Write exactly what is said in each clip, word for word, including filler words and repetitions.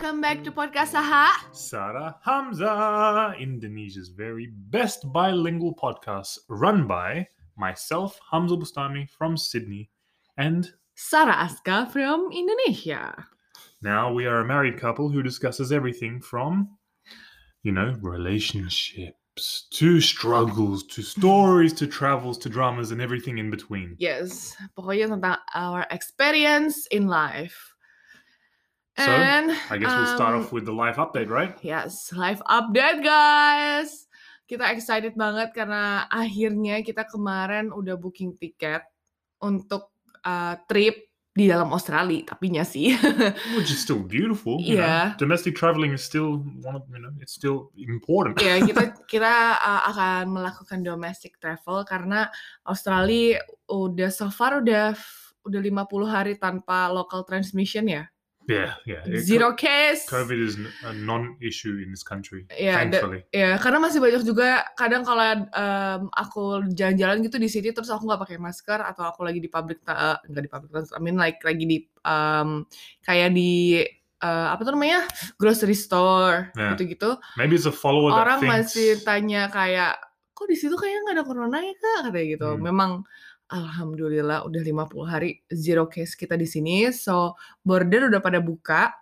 welcome back to Podcast Saha. Sarah Hamza, Indonesia's very best bilingual podcast, run by myself, Hamza Bustami from Sydney, and Sarah Aska from Indonesia. now we are a married couple who discusses everything from, you know, relationships to struggles to stories to travels to dramas and everything in between. Yes, pokoknya tentang our experience in life. So, And I guess we'll start um, off with the life update, right? Yes, live update guys. Kita excited banget karena akhirnya kita kemarin udah booking tiket untuk uh, trip di dalam Australia, tapinya sih. Which is still beautiful. You Yeah. know? Domestic traveling is still one of, you know, it's still important. Ya, kita kita uh, akan melakukan domestic travel karena Australia udah so far udah udah lima puluh hari tanpa local transmission ya. Yeah, yeah. It- Zero case. COVID is n- a non-issue in this country, Ya, da- thankfully. ya, karena masih banyak juga kadang kalau um, aku jalan-jalan gitu di sini terus aku nggak pakai masker atau aku lagi di public ta- uh, nggak di public transport, I mean like lagi di um, kayak di uh, apa tuh namanya grocery store Yeah. gitu-gitu. Maybe it's a follower that Orang thinks... masih tanya kayak, kok di situ kayaknya nggak ada corona ya kak, katanya gitu. Hmm. Memang alhamdulillah udah lima puluh hari zero case kita di sini, so border udah pada buka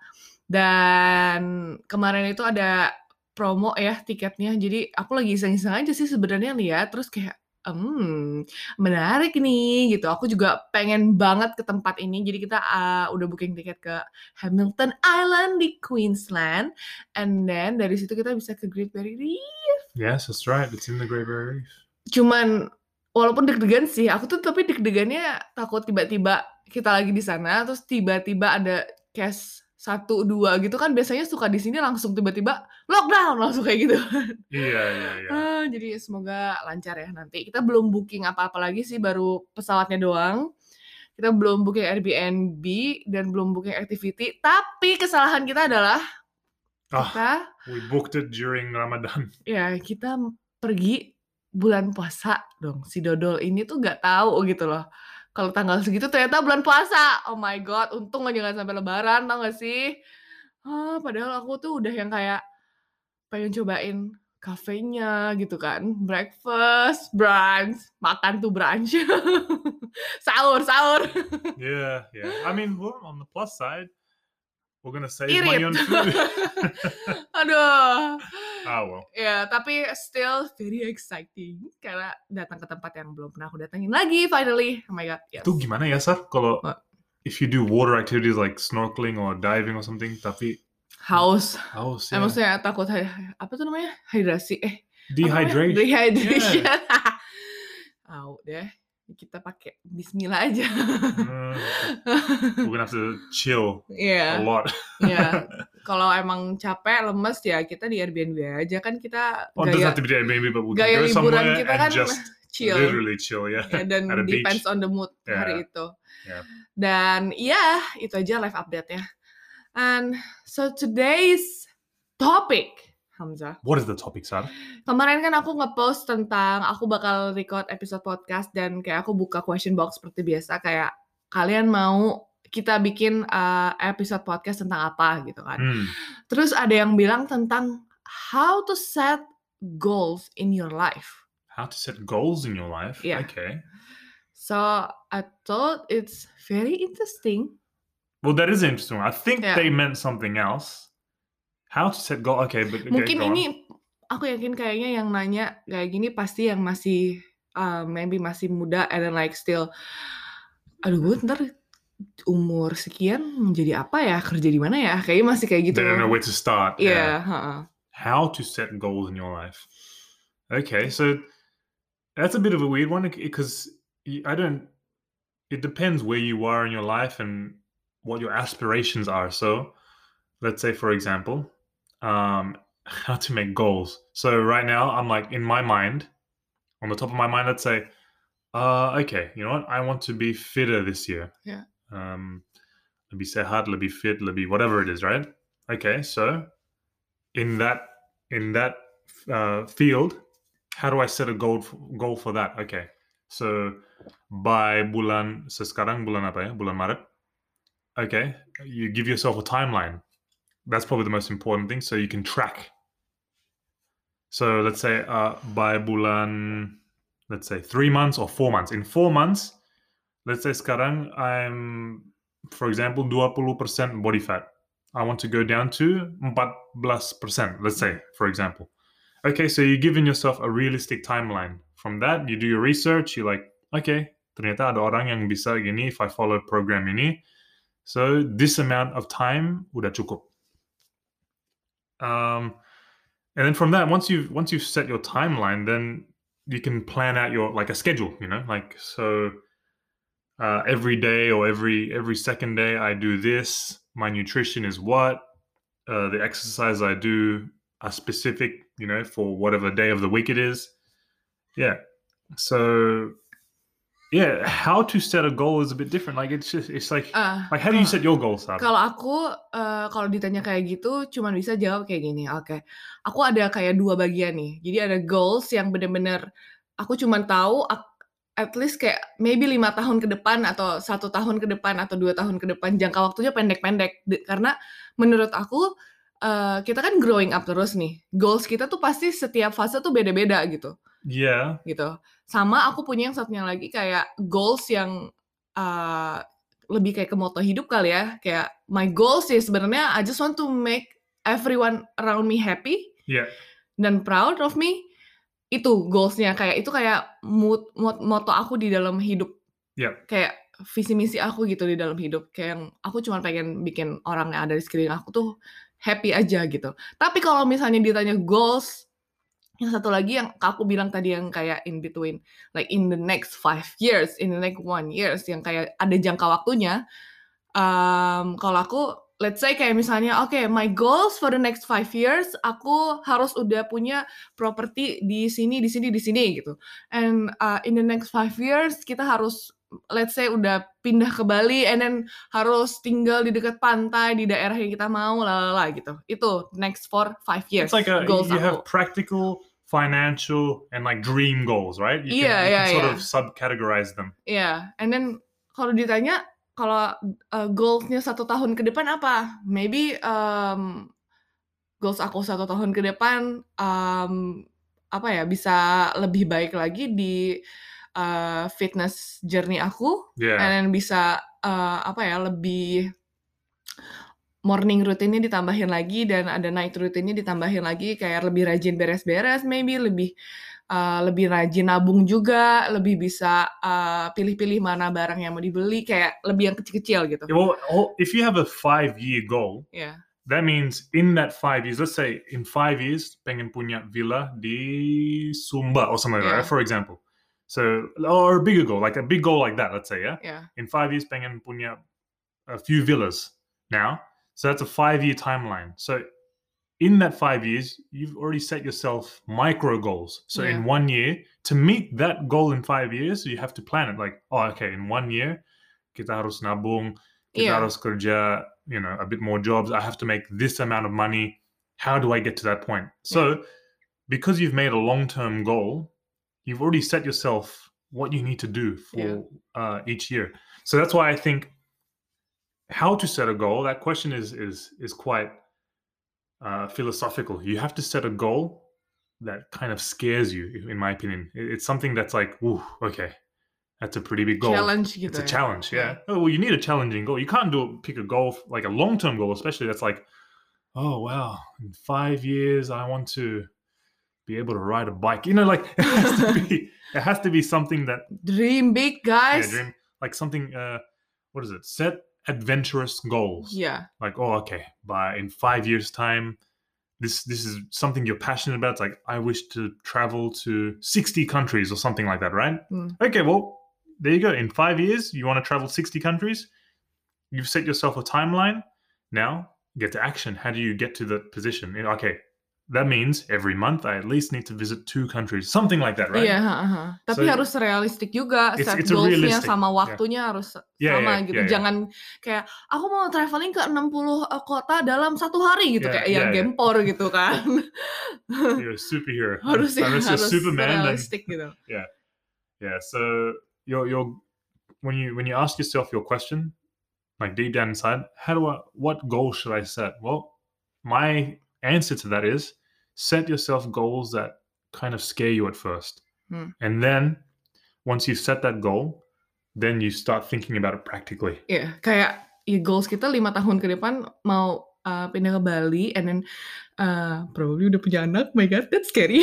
dan kemarin itu ada promo ya tiketnya. Jadi aku lagi iseng-iseng aja sih sebenarnya lihat, terus kayak, hmm menarik nih gitu. Aku juga pengen banget ke tempat ini. Jadi kita uh, udah booking tiket ke Hamilton Island di Queensland, and then dari situ kita bisa ke Great Barrier Reef. Yes, that's right. It's in the Great Barrier Reef. Cuman walaupun deg-degan sih, aku tuh tapi deg-degannya takut tiba-tiba kita lagi di sana terus tiba-tiba ada case satu dua gitu kan, biasanya suka di sini langsung tiba-tiba lockdown langsung kayak gitu. Iya, iya, iya. Ah, jadi semoga lancar ya nanti. Kita belum booking apa-apa lagi sih, baru pesawatnya doang. Kita belum booking Airbnb dan belum booking activity. Tapi kesalahan kita adalah Ah, kita we booked it during Ramadan. ya kita pergi bulan puasa dong. Si dodol ini tuh nggak tahu gitu loh. Kalau tanggal segitu ternyata bulan puasa. Oh my god, untung aja nggak sampai lebaran, tau gak sih? Ah, padahal aku tuh udah yang kayak pengen cobain kafenya gitu kan. Breakfast, brunch, makan tuh brunch. sahur, sahur. Yeah, yeah. I mean, well, on the plus side, we're gonna save Irit. money on food. Aduh. Ah, well. Ya, tapi still very exciting karena datang ke tempat yang belum pernah aku datengin lagi finally. Oh my god, yes. Itu gimana ya, Sar? Kalau What? if you do water activities like snorkeling or diving or something, tapi Haus. haus, Eh, ya. maksudnya takut hy- apa tuh namanya? Hidrasi. Eh, Dehydration. Dehydration. Au deh. Kita pakai bismillah aja. Uh, we're gonna have to chill a Iya. lot. Iya. Kalau emang capek, lemes ya kita di Airbnb aja kan, kita Oh, it doesn't gaya have to be there, maybe, but we can gaya go liburan somewhere kita and kan just chill. literally chill, yeah. Ya, dan At a beach. depends on the mood Yeah. hari itu. Yeah. Dan iya, itu aja live update-nya. And so today's topic, Hamzah. What is the topic, Sar? Kemarin kan aku nge-post tentang aku bakal record episode podcast dan kayak aku buka question box seperti biasa, kayak kalian mau kita bikin uh, episode podcast tentang apa gitu kan. Hmm. Terus ada yang bilang tentang how to set goals in your life. How to set goals in your life? Yeah. Okay. So I thought it's very interesting. Well, that is interesting. I think Yeah. they meant something else. How to set goal? Okay, but okay, Mungkin go on. ini aku yakin kayaknya yang nanya kayak gini pasti yang masih uh, maybe masih muda and then like still, aduh gue ntar umur sekian menjadi apa ya, kerja di mana ya, kayaknya masih kayak gitu. They don't know where to start. Iya, heeh. How to set goals in your life? Okay, so that's a bit of a weird one because I don't. It depends where you are in your life and what your aspirations are. So, let's say, for example, um, how to make goals. So right now, I'm like in my mind, on the top of my mind, let's say, uh, okay, you know what? I want to be fitter this year. Yeah. Um, lebih sehat, lebih fit, lebih whatever it is, right? Okay, so in that in that uh, field, how do I set a goal f- goal for that? Okay, so by bulan sekarang bulan apa ya? Bulan Maret. Okay, you give yourself a timeline. That's probably the most important thing. So you can track. So let's say uh, by bulan, let's say three months or four months. In four months, let's say sekarang I'm, for example, twenty percent body fat. I want to go down to fourteen percent, let's say, for example. Okay, so you're giving yourself a realistic timeline. From that, you do your research. You're like, okay, ternyata ada orang yang bisa gini if I follow program ini. So this amount of time udah cukup. Um, and then from that, once you've once you've set your timeline, then you can plan out your like a schedule. You know, like so. Uh, every day or every every second day, I do this. My nutrition is what. Uh, the exercise I do are specific, you know, for whatever day of the week it is. Yeah. So, yeah, how to set a goal is a bit different. Like it's just, it's like, Ah, like how do you kalau set your goals, Sarah? kalau aku, eee, kalau ditanya kayak gitu cuman bisa jawab kayak gini, oke. Aku ada kayak dua bagian nih. Jadi ada goals yang bener-bener aku cuman tahu ak at least kayak maybe lima tahun ke depan atau satu tahun ke depan atau dua tahun ke depan, jangka waktunya pendek-pendek. De karena menurut aku, eee, kita kan growing up terus nih. Goals kita tuh pasti setiap fase tuh beda-beda gitu. Yeah. Gitu. Sama aku punya yang satunya lagi kayak goals yang, eee, lebih kayak ke moto hidup kali ya, kayak my goals sih sebenarnya I just want to make everyone around me happy Yeah. dan proud of me. Itu goals-nya, kayak itu kayak mut mot moto aku di dalam hidup. Yeah. Kayak visi misi aku gitu di dalam hidup, kayak yang aku cuma pengen bikin orang yang ada di sekeliling aku tuh happy aja gitu. Tapi kalau misalnya ditanya goals, yang satu lagi yang aku bilang tadi yang kayak in between, like in the next five years, in the next one years, yang kayak ada jangka waktunya. Um, kalau aku, let's say kayak misalnya, oke, okay, my goals for the next five years, aku harus udah punya properti di sini, di sini, di sini gitu. And uh, in the next five years, kita harus, let's say udah pindah ke Bali, and then harus tinggal di dekat pantai, di daerah yang kita mau, lalala gitu. Itu next for five years. It's like a, goals you aku. have practical, financial, and like dream goals, right? You Iya, can, you iya, can sort iya. of subcategorize them. Iya, yeah. And then kalau ditanya, kalau uh, goals-nya satu tahun ke depan apa? Maybe um, goals aku satu tahun ke depan um, apa ya, bisa lebih baik lagi di uh, fitness journey aku, Yeah. and then bisa uh, apa ya, lebih morning rutinnya ditambahin lagi dan ada night rutinnya ditambahin lagi, kayak lebih rajin beres-beres, maybe lebih uh, lebih rajin nabung juga, lebih bisa uh, pilih-pilih mana barang yang mau dibeli, kayak lebih yang kecil-kecil gitu. Well, if you have a five-year goal, Yeah. that means in that five years, let's say in five years, pengen punya villa di Sumba or something like Yeah. that, for example. So, or a bigger goal, like a big goal like that, let's say, yeah? Yeah. In five years, pengen punya a few villas now. So that's a five-year timeline. So in that five years, you've already set yourself micro goals. So Yeah. in one year, to meet that goal in five years, you have to plan it. Like, oh, okay, in one year, kita harus nabung, kita Yeah. harus kerja, you know, a bit more jobs. I have to make this amount of money. How do I get to that point? So because you've made a long-term goal, you've already set yourself what you need to do for Yeah. uh, each year. So that's why I think how to set a goal, that question is is is quite uh, philosophical. You have to set a goal that kind of scares you, in my opinion. It- It's something that's like, ooh, okay, that's a pretty big goal. Challenge gitu It's a ya. challenge, yeah. Yeah. Oh, well, you need a challenging goal. You can't do pick a goal like a long-term goal, especially that's like, oh wow, in five years I want to be able to ride a bike. You know, like it has to be it has to be something that Dream big, yeah, guys. dream like something uh what is it? Set adventurous goals. Yeah. Like, oh okay, by in five years time, this this is something you're passionate about. It's like, I wish to travel to sixty countries or something like that, right? Hmm. Okay, well, there you go. In five years, you want to travel sixty countries. You've set yourself a timeline. Now, get to action. How do you get to the position? You know, okay, that means every month I at least need to visit two countries. Something like that, right? Iya, heeh, heeh. Tapi So, harus realistik juga, it's- set it's a goals-nya realistic, sama yeah. waktunya harus Yeah, sama yeah, gitu. yeah, yeah. Jangan kayak, aku mau traveling ke enam puluh uh, kota dalam satu hari gitu, Yeah, kayak yang yeah, yeah. gempor gitu kan. You're a superhero. Harus ya, Unless you're harus Superman, then realistik gitu. yeah, yeah. So you're you're when you when you ask yourself your question, like deep down inside, how do I what goal should I set? Well, my answer to that is set yourself goals that kind of scare you at first. Hmm. And then once you set that goal, then you start thinking about it practically. Iya, kayak ya goals kita lima tahun ke depan mau uh, pindah ke Bali and then uh, probably udah punya anak. My God, that's scary.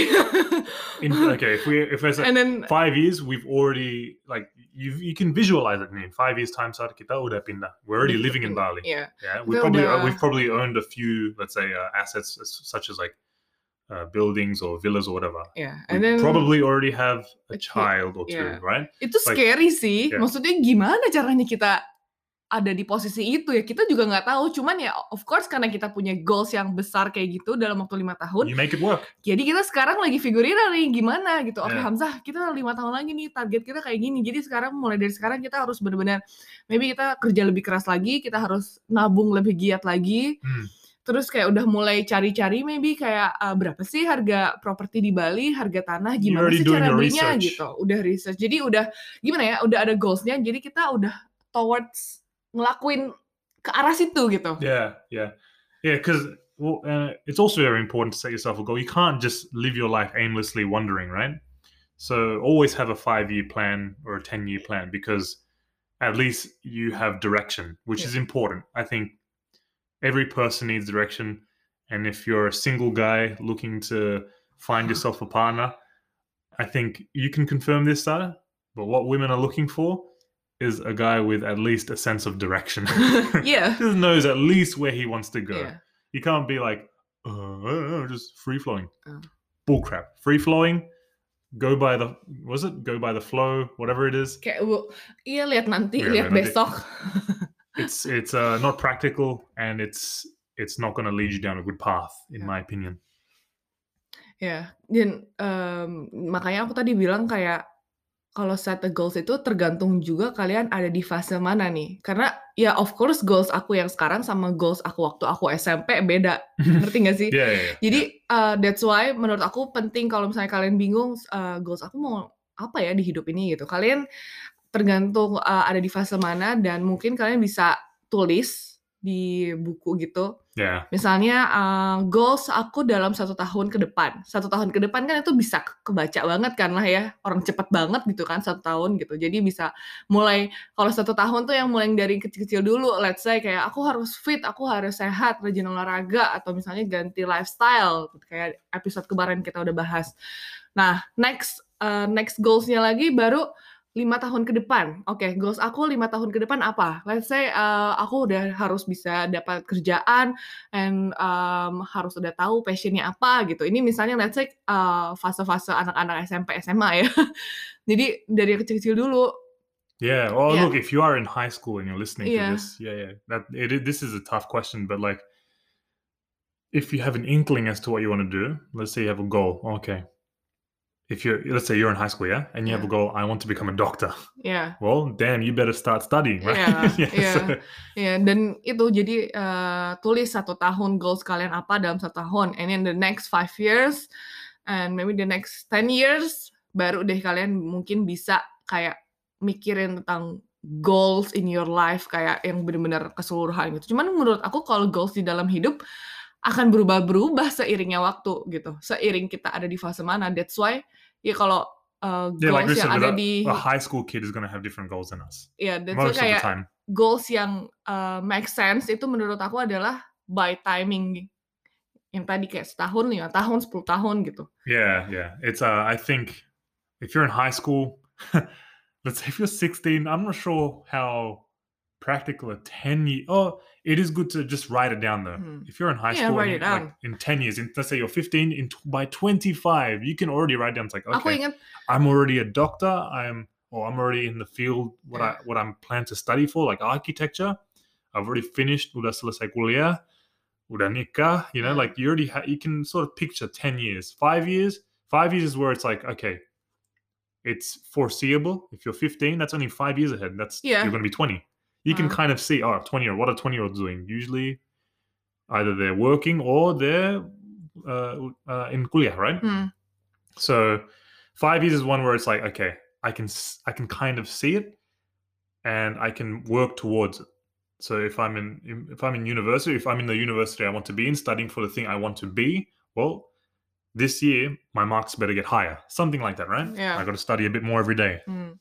In, okay, if we if I say And then five years, we've already like you you can visualize it. I mean, five years time saat kita udah pindah, we're already udah living in pindah, Bali. yeah. Yeah, we Kita probably udah- we've probably owned a few, let's say, uh, assets as- such as like uh, buildings or villas or whatever. Yeah, We and then probably already have a a kid, child or two, yeah. right? Itu Like, scary sih. yeah. Maksudnya gimana caranya kita ada di posisi itu ya? Kita juga nggak tahu. Cuman ya of course karena kita punya goals yang besar kayak gitu dalam waktu lima tahun. You make it work. Jadi kita sekarang lagi figurin nih gimana gitu. Oke, Yeah. Hamzah, kita lima tahun lagi nih, target kita kayak gini. Jadi sekarang mulai dari sekarang kita harus benar-benar maybe kita kerja lebih keras lagi, kita harus nabung lebih giat lagi. Hmm. Terus kayak udah mulai cari-cari maybe kayak uh, berapa sih harga properti di Bali, harga tanah, gimana already sih doing cara your belinya research. gitu. Udah research. Jadi udah gimana ya? Udah ada goals-nya. Jadi kita udah towards ngelakuin ke arah situ gitu. Yeah, yeah, yeah. Because well, uh, it's also very important to set yourself a goal. You can't just live your life aimlessly wandering, right? So always have a five-year plan or a ten-year plan because at least you have direction, which Yeah. is important. I think every person needs direction, and if you're a single guy looking to find yourself a partner, I think you can confirm this, Sarah. But what women are looking for is a guy with at least a sense of direction. Yeah. Just knows at least where he wants to go. Yeah. You can't be like, uh, just free flowing. Oh. Bullcrap. Free flowing, go by the, was it? Go by the flow, whatever it is. Kayak w- iya lihat nanti, Iya, lihat lihat nanti. besok. It's it's uh, not practical and it's it's not going to lead you down a good path, in Yeah. my opinion. Ya, dan um, makanya aku tadi bilang kayak kalau set the goals itu tergantung juga kalian ada di fase mana nih. Karena ya of course goals aku yang sekarang sama goals aku waktu aku S M P beda. Ngerti gak sih? Yeah, yeah, yeah. Jadi uh, that's why menurut aku penting kalau misalnya kalian bingung uh, goals aku mau apa ya di hidup ini gitu. Kalian tergantung uh, ada di fase mana dan mungkin kalian bisa tulis di buku gitu. Yeah. Misalnya uh, goals aku dalam satu tahun ke depan. Satu tahun ke depan kan itu bisa ke- kebaca banget kan lah ya. Orang cepet banget gitu kan satu tahun gitu. Jadi bisa mulai, kalau satu tahun tuh yang mulai dari kecil-kecil dulu. Let's say kayak aku harus fit, aku harus sehat, rajin olahraga. Atau misalnya ganti lifestyle. Kayak episode kemarin kita udah bahas. Nah, next uh, next goals-nya lagi baru lima tahun ke depan. Oke, okay, goals aku lima tahun ke depan apa? Let's say uh, aku udah harus bisa dapat kerjaan and um, harus udah tahu passionnya apa gitu. Ini misalnya let's say uh, fase-fase anak-anak S M P, S M A ya. Jadi dari kecil-kecil dulu. Yeah. Well, Yeah. look, if you are in high school and you're listening Yeah. to this, yeah, yeah, that it, it- this is a tough question, but like, if you have an inkling as to what you want to do, let's say you have a goal. Okay. If you're, let's say you're in high school, yeah, and you have a Yeah. goal, I want to become a doctor. Ya. Well, damn, you better start studying, right? Iya, Yeah, iya, so- iya. Dan itu jadi uh, tulis satu tahun goals kalian apa dalam satu tahun, and in the next five years, and maybe the next ten years, baru deh kalian mungkin bisa kayak mikirin tentang goals in your life kayak yang benar-benar keseluruhan gitu. Cuman menurut aku kalau goals di dalam hidup akan berubah-berubah seiringnya waktu gitu. Seiring kita ada di fase mana. That's why ya kalau uh, yeah, like goals we yang said, ada a, di a high school kid is going to have different goals than us. ya that's why Most of the kayak time. goals yang uh, make sense itu menurut aku adalah by timing. Yang tadi kayak setahun, lima tahun, sepuluh tahun gitu. Yeah, yeah. It's uh I think if you're in high school, let's say if you're sixteen, I'm not sure how practical a ten year oh it is good to just write it down though. Hmm. If you're in high Yeah, school write and it you- like down. in ten years, in, let's say you're fifteen, in t- by twenty-five, you can already write down it's like, Aku okay, ingat, I'm already a doctor, I'm or I'm already in the field what Yeah. I what I'm planning to study for, like architecture. I've already finished, udah selesai kuliah, udah nikah, you know, Yeah. like you already ha- you can sort of picture ten years. Five years, five years is where it's like, okay, it's foreseeable. If you're fifteen, that's only five years ahead. That's Yeah. you're going to be twenty. You can Uh. kind of see, oh, twenty year, what are twenty year olds doing? Usually, either they're working or they're uh, uh, in kuliah, right? hmm, So five years is one where it's like, okay, I can s- I can kind of see it, and I can work towards it. So if I'm in if I'm in university, if I'm in the university I want to be in, studying for the thing I want to be, well, this year my marks better get higher. Something like that, right? I Ya. got to study a bit more every day. Hmm.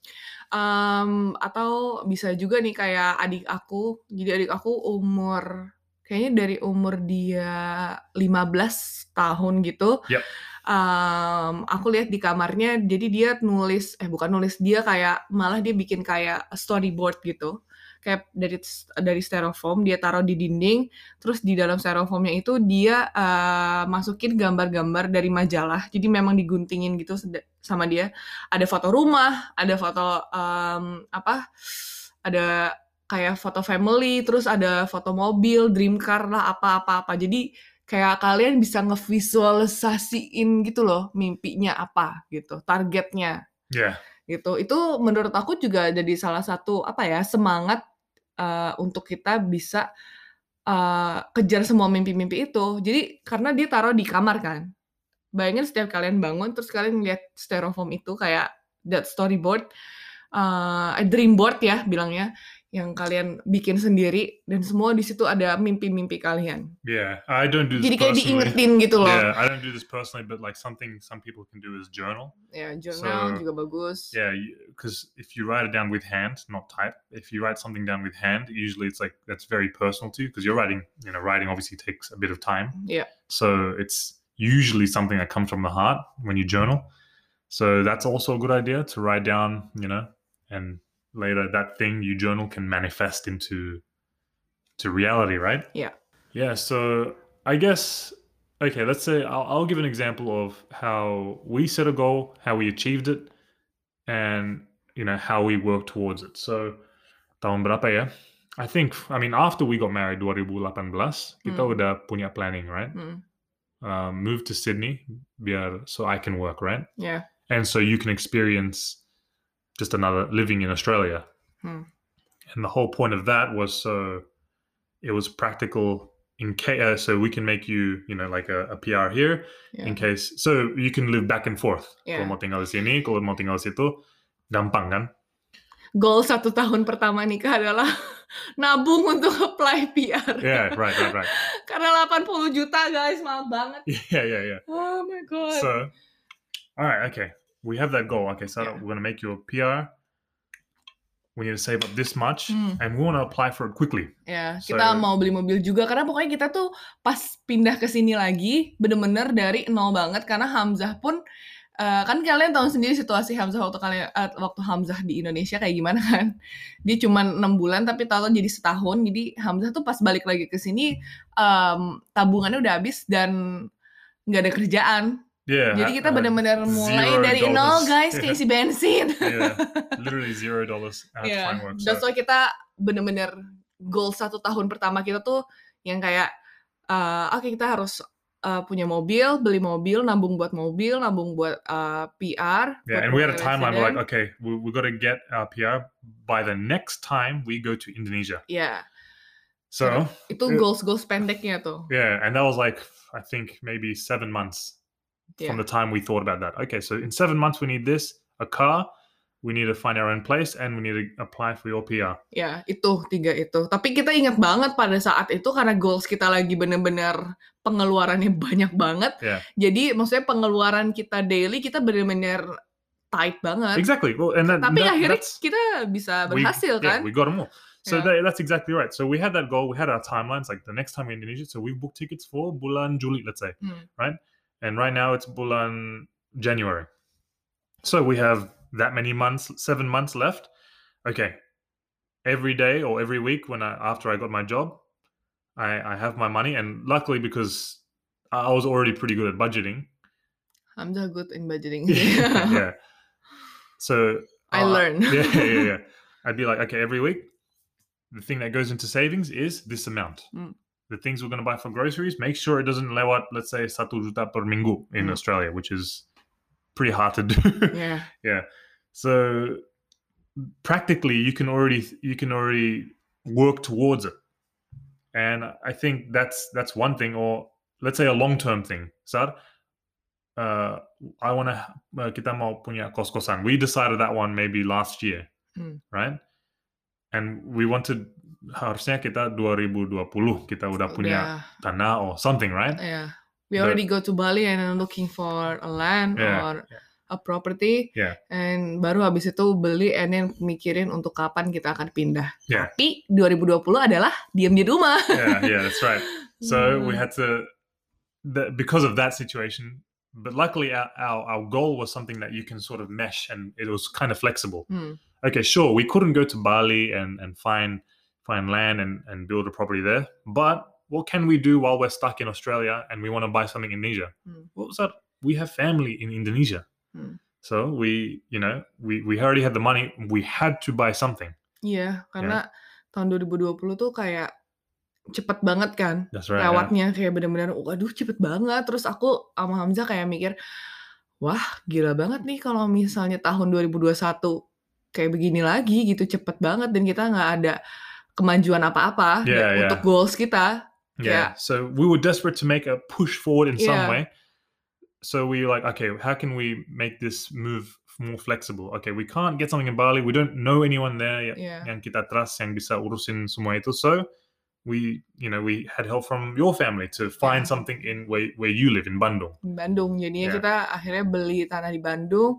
Mmm, atau bisa juga nih kayak adik aku. Jadi adik aku umur kayaknya dari umur dia lima belas tahun gitu, Yep. mmm, aku lihat di kamarnya, jadi dia nulis eh bukan nulis, dia kayak malah dia bikin kayak storyboard gitu. Kayak dari s dari styrofoam dia taruh di dinding, terus di dalam styrofoamnya itu dia, eee, masukin gambar-gambar dari majalah. Jadi memang diguntingin gitu seda sama dia. Ada foto rumah, ada foto, mmm, apa, ada kayak foto family, terus ada foto mobil, dream car lah, apa apa apa. Jadi kayak kalian bisa ngevisualisasiin gitu loh mimpinya apa gitu, targetnya Yeah. gitu. Itu menurut aku juga jadi salah satu apa ya, semangat, eee, untuk kita bisa, eee, kejar semua mimpi-mimpi itu. Jadi karena dia taruh di kamar kan. Bayangin setiap kalian bangun terus kalian ngeliat styrofoam itu kayak that storyboard, eee, dream board ya bilangnya, yang kalian bikin sendiri dan semua di situ ada mimpi-mimpi kalian. Yeah, I don't do this Jadi kayak personally. diingetin gitu loh. Yeah, I don't do this personally, but like something some people can do is journal. Ya, journal So, juga bagus. Yeah, because if you write it down with hand, not type, if you write something down with hand, usually it's like that's very personal to you because you're writing, you know, writing obviously takes a bit of time. Yeah. So it's usually something that comes from the heart when you journal. So that's also a good idea to write down, you know, and later that thing you journal can manifest into to reality, right? Yeah. Yeah, so I guess okay, let's say I'll, I'll give an example of how we set a goal, how we achieved it, and you know how we work towards it. So tahun berapa ya? I think I mean after we got married dua ribu delapan belas, kita Hmm. udah punya planning, right? Hmm. Uh, move to Sydney biar so I can work, right? Yeah. And so you can experience just another living in Australia. Hmm. And the whole point of that was so it was practical in case uh, so we can make you you know like a, a P R here Yeah. in case so you can live back and forth. Yeah. Kalau mau tinggal di sini, kalau mau tinggal di situ, gampang kan? Goal satu tahun pertama nikah adalah nabung untuk apply P R. Yeah, right, right, right. Karena delapan puluh juta guys, mahal banget. Yeah, yeah, yeah. Oh my god. So, all right, okay. We have that goal. Okay, so Yeah. we're gonna make you a P R. We need to save up this much, Hmm. and we want to apply for it quickly. Ya, So- kita mau beli mobil juga karena pokoknya kita tuh pas pindah ke sini lagi bener-bener dari nol banget karena Hamzah pun eh, kan kalian tahu sendiri situasi Hamzah waktu kalian eh, waktu Hamzah di Indonesia kayak gimana kan. Dia cuma enam bulan tapi tahu jadi setahun. Jadi Hamzah tuh pas balik lagi ke sini em, tabungannya udah habis dan nggak ada kerjaan. Yeah. Jadi kita uh, bener-bener mulai zero dari nol dollars. guys, Yeah. kayak isi bensin. Yeah, literally zero dollars. I have to Iya, find work. that's So, why kita bener-bener goal satu tahun pertama kita tuh yang kayak, eh, oke kita harus eh, punya mobil, beli mobil, nabung buat mobil, nabung buat eh, P R. buat yeah, and we had a mulai timeline. We're resident. like, okay, we we got to get our P R by the next time we go to Indonesia. Iya, So itu uh, goals-goals pendeknya tuh. yeah, and that was like I think maybe seven months from Iya. the time we thought about that. Okay, so in seven months we need this, a car, we need to find our own place, and we need to apply for your P R. Ya, itu tiga itu. Tapi kita ingat banget pada saat itu karena goals kita lagi bener-bener pengeluarannya banyak banget. Yeah. Jadi maksudnya pengeluaran kita daily kita bener-bener tight banget. Exactly. Well, and that, Tapi that- akhirnya that's kita bisa we- berhasil yeah, kan? we got them all. So Yeah. that, that's exactly right. So we had that goal. We had our timelines. Like the next time we're in Indonesia, so we've booked tickets for bulan Juli, let's say, Hmm. right? And right now it's bulan January. So we have that many months, seven months left. Okay. Every day or every week when I after I got my job, I, I have my money, and luckily because I was already pretty good at budgeting. Hamzah good in budgeting. yeah. So I uh, learned. yeah, yeah, yeah. I'd be like, okay, every week, the thing that goes into savings is this amount. Mm. The things we're going to buy for groceries, make sure it doesn't lewat, let's say, satu juta per minggu in Mm. Australia, which is pretty hard to do. Yeah. yeah. So practically, you can already you can already work towards it, and I think that's that's one thing. Or let's say a long term thing. Sar, uh, I want to uh, kita mau punya kos-kosan. We decided that one maybe last year, Mm. right? And we wanted harusnya kita dua ribu dua puluh kita udah punya Udah. tanah or something, right? Yeah. We But- already go to Bali and then looking for a land Yeah, or yeah. a property. Yeah. And baru habis itu beli and then mikirin untuk kapan kita akan pindah. Yeah. Tapi dua ribu dua puluh adalah diam di rumah. Yeah, yeah, that's right. So we Hmm. had to, the, because of that situation, but luckily our, our, our goal was something that you can sort of mesh and it was kind of flexible. Hmm. Okay, sure, we couldn't go to Bali and, and find find land and, and build a property there, but what can we do while we're stuck in Australia and we want to buy something in Indonesia? Hmm. What was that? We have family in Indonesia. Hmm. So we, you know, we, we already had the money. We had to buy something. Iya, karena tahun dua ribu dua puluh tuh kayak cepet banget kan. That's right. Yeah. Lewatnya kayak bener-bener, waduh cepet banget. Terus aku sama Hamzah kayak mikir, wah gila banget nih kalau misalnya tahun dua ribu dua puluh satu kayak begini lagi gitu, cepet banget dan kita nggak ada kemajuan apa-apa Yeah, da- yeah. untuk goals kita. Yeah. Kayak, So we were desperate to make a push forward in some Yeah. way. So we were like, okay, how can we make this move more flexible? Okay, we can't get something in Bali. We don't know anyone there y- Yeah. yang kita trust yang bisa urusin semua itu. So we, you know, we had help from your family to find Yeah. something in where, where you live in Bandung. di Bandung. Jadinya Yeah. kita akhirnya beli tanah di Bandung.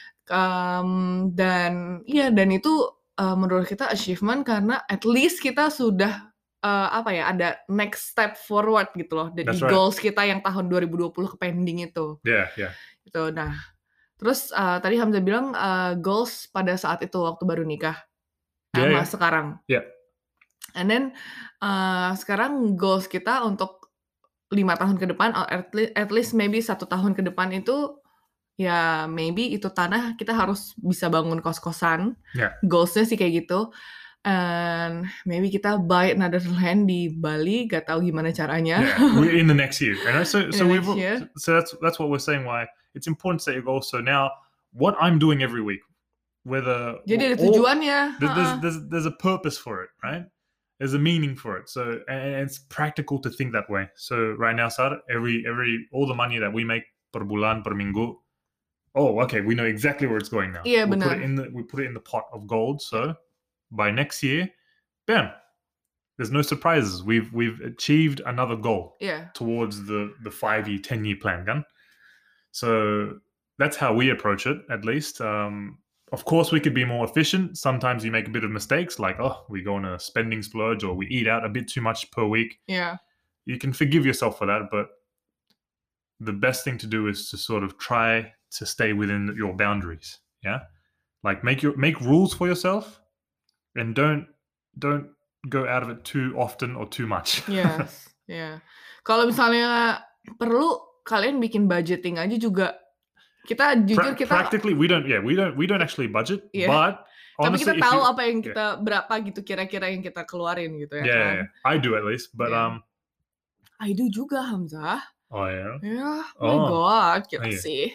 Um, dan iya dan itu uh, menurut kita achievement karena at least kita sudah uh, apa ya ada next step forward gitu loh di That's right. goals kita yang tahun dua ribu dua puluh ke pending itu. Yeah, yeah. Gitu. Nah, terus uh, tadi Hamzah bilang uh, goals pada saat itu waktu baru nikah Yeah, sama yeah. sekarang. Yeah. And then uh, sekarang goals kita untuk lima tahun ke depan, or at least, at least maybe satu tahun ke depan itu ya maybe itu tanah kita harus bisa bangun kos-kosan. Yeah. Goalsnya sih kayak gitu. And maybe kita buy another land di Bali, gak tahu gimana caranya. Yeah, we're in the next year. And so, In so the we've, next year. so that's that's what we're saying. Why it's important to set your goals. So now, what I'm doing every week, whether Jadi ada all- tujuannya. there- there's, Ha-ha. there's there's a purpose for it, right? There's a meaning for it. So and it's practical to think that way. So right now, Sar, every every all the money that we make per bulan per minggu, oh, okay, we know exactly where it's going now. Iya, we put benar. it in the we put it in the pot of gold. So by next year, bam, there's no surprises. We've we've achieved another goal Iya. towards the the five year, ten year plan, kan? So that's how we approach it, at least. Um, of course, we could be more efficient. Sometimes you make a bit of mistakes, like oh, we go on a spending splurge or we eat out a bit too much per week. Iya. You can forgive yourself for that, but the best thing to do is to sort of try to stay within your boundaries. Yeah, like make your make rules for yourself, and don't don't go out of it too often or too much. Yes. Ya. Kalau misalnya perlu kalian bikin budgeting aja juga. Kita jujur Pra- kita practically we don't yeah we don't we don't actually budget, Yeah. but tapi honestly, kita if tahu you- apa yang kita berapa gitu kira-kira yang kita keluarin gitu ya yeah, kan. yeah, yeah, I do at least, but Yeah. um I do juga Hamzah. oh yeah Ya, my Oh. god, Oh, kita iya. sih.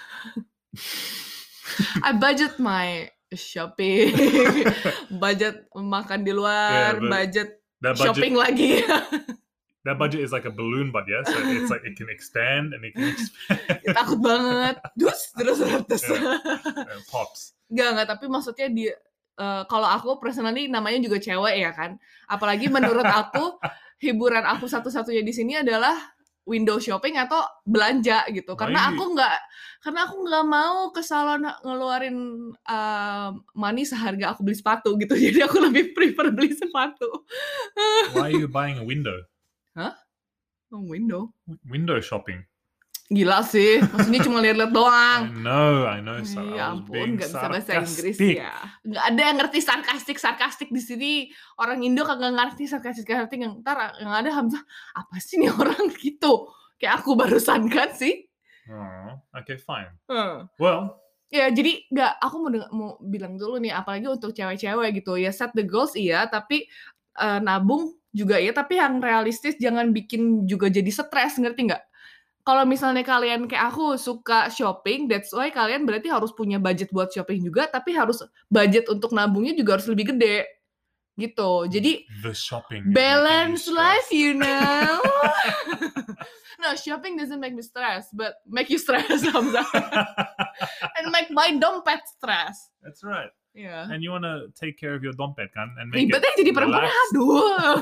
I budget my shopping, budget makan di luar, Yeah, but budget that budget shopping lagi. that budget is like a balloon, but yeah, so it's like it can expand and it can expand. Takut banget. Dus terus terus. Yeah. Uh, pops. Enggak, enggak, tapi maksudnya di eh, kalau aku personally namanya juga cewek ya kan. Apalagi menurut aku hiburan aku satu-satunya di sini adalah window shopping atau belanja gitu. Karena Why? aku nggak karena aku nggak mau ke salon ngeluarin eh, money seharga aku beli sepatu gitu. Jadi aku lebih prefer beli sepatu. Why are you buying a window? Oh, window. Window shopping. Gila sih. Maksudnya cuma lihat-lihat I doang. know, I know. Sarah, Ya I was ampun, being nggak bisa bahasa Inggris sarcastic. ya. Nggak ada yang ngerti sarkastik sarkastik di sini. Orang Indo kagak ngerti sarkastik sarkastik. Yang ntar yang ada Hamzah, apa sih nih orang gitu? Kayak aku barusan kan sih. Oh, okay, fine. Hmm. Well, Ya jadi nggak. Aku mau deng- mau bilang dulu nih, apalagi untuk cewek-cewek gitu. Ya set the goals iya, tapi eh, nabung juga iya. Tapi yang realistis, jangan bikin juga jadi stres, ngerti nggak? Kalau misalnya kalian kayak aku suka shopping, that's why kalian berarti harus punya budget buat shopping juga, tapi harus budget untuk nabungnya juga harus lebih gede. Gitu. Jadi the shopping. is making you balance life, stressed. you know. No, shopping doesn't make me stress, but make you stress, Hamzah. And make my dompet stress. That's right. Iya. and you wanna take care of your dompet kan, and make Ribetnya it jadi perempuan, relaxed. aduh.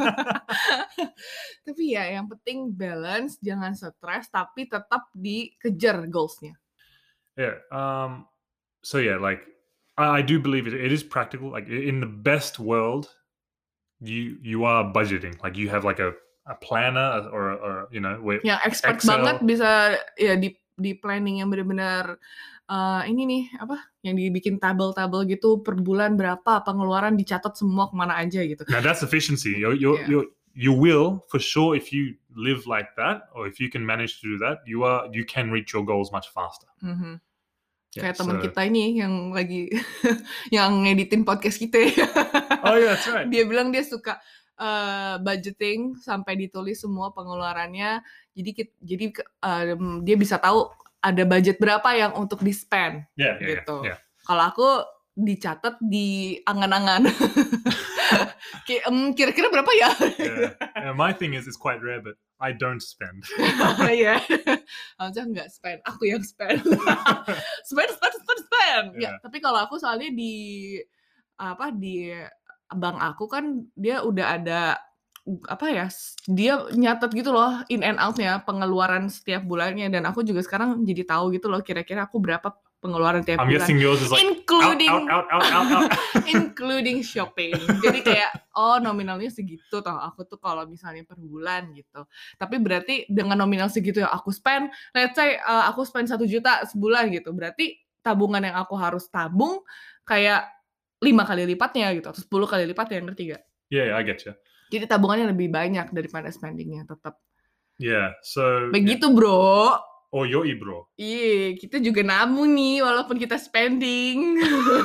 Tapi ya yang penting balance, jangan stres, tapi tetap dikejar goals-nya. Yeah. Um. So yeah, like I, I do believe it. It is practical. Like i- in the best world, you you are budgeting. Like you have like a a planner or or you know where Yang expert Excel. banget bisa ya di di planning yang benar-benar eh, ini nih apa yang dibikin tabel-tabel gitu per bulan berapa pengeluaran dicatat semua kemana aja gitu. Now that's efficiency. You you Yeah. you you will for sure if you live like that, or if you can manage to do that, you are you can reach your goals much faster. Mhm. Yeah, Kayak teman so- kita ini yang lagi yang ngeditin podcast kita. Oh yeah, that's right. Dia bilang dia suka uh, budgeting sampai ditulis semua pengeluarannya. Jadi kit- jadi um, dia bisa tahu ada budget berapa yang untuk di spend Yeah, yeah, gitu. yeah. yeah. Kalau aku dicatat di angan-angan. Kayak um, kira-kira berapa ya? Yeah. Yeah, my thing is it's quite rare, but I don't spend. Iya. Harusnya nggak spend, aku yang spend. spend, spend, spend, spend. Ya, Yeah. tapi kalau aku soalnya di apa di bank aku kan dia udah ada apa ya? Dia nyatet gitu loh in and out-nya, pengeluaran setiap bulannya, dan aku juga sekarang jadi tahu gitu loh kira-kira aku berapa pengeluaran tiap I'm bulan. guessing yours is like including out, out, out, out, out, out. including shopping. Jadi kayak oh nominalnya segitu toh aku tuh kalau misalnya per bulan gitu. Tapi berarti dengan nominal segitu yang aku spend, let's say uh, aku spend satu juta sebulan gitu. Berarti tabungan yang aku harus tabung kayak lima kali lipatnya gitu atau sepuluh kali lipatnya, ngerti gak? Yeah, yeah, I get you. Jadi tabungannya lebih banyak daripada spendingnya tetap. Yeah, so Begitu bro. or yoi bro. Iya, kita juga nabung nih walaupun kita spending.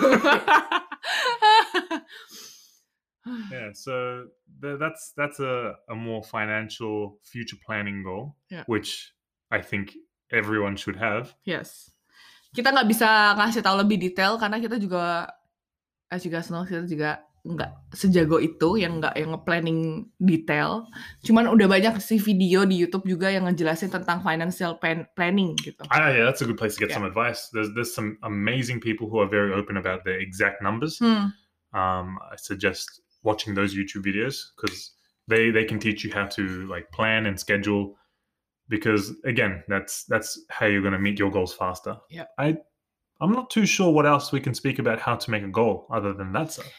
Yeah, so th- that's that's a, a more financial future planning goal, Yeah. which I think everyone should have. Yes. Kita nggak bisa ngasih tahu lebih detail karena kita juga, as you guys know, kita juga nggak sejago itu yang nggak yang nge-planning detail. Cuman udah banyak sih video di YouTube juga yang ngejelasin tentang financial plan- planning gitu. Ah, yeah, that's a good place to get Yeah. some advice. There's there's some amazing people who are very open about their exact numbers. Hmm. Um, I suggest watching those YouTube videos because they they can teach you how to like plan and schedule. Because again, that's that's how you're going to meet your goals faster. Yeah. I I'm not too sure what else we can speak about how to make a goal other than that. So.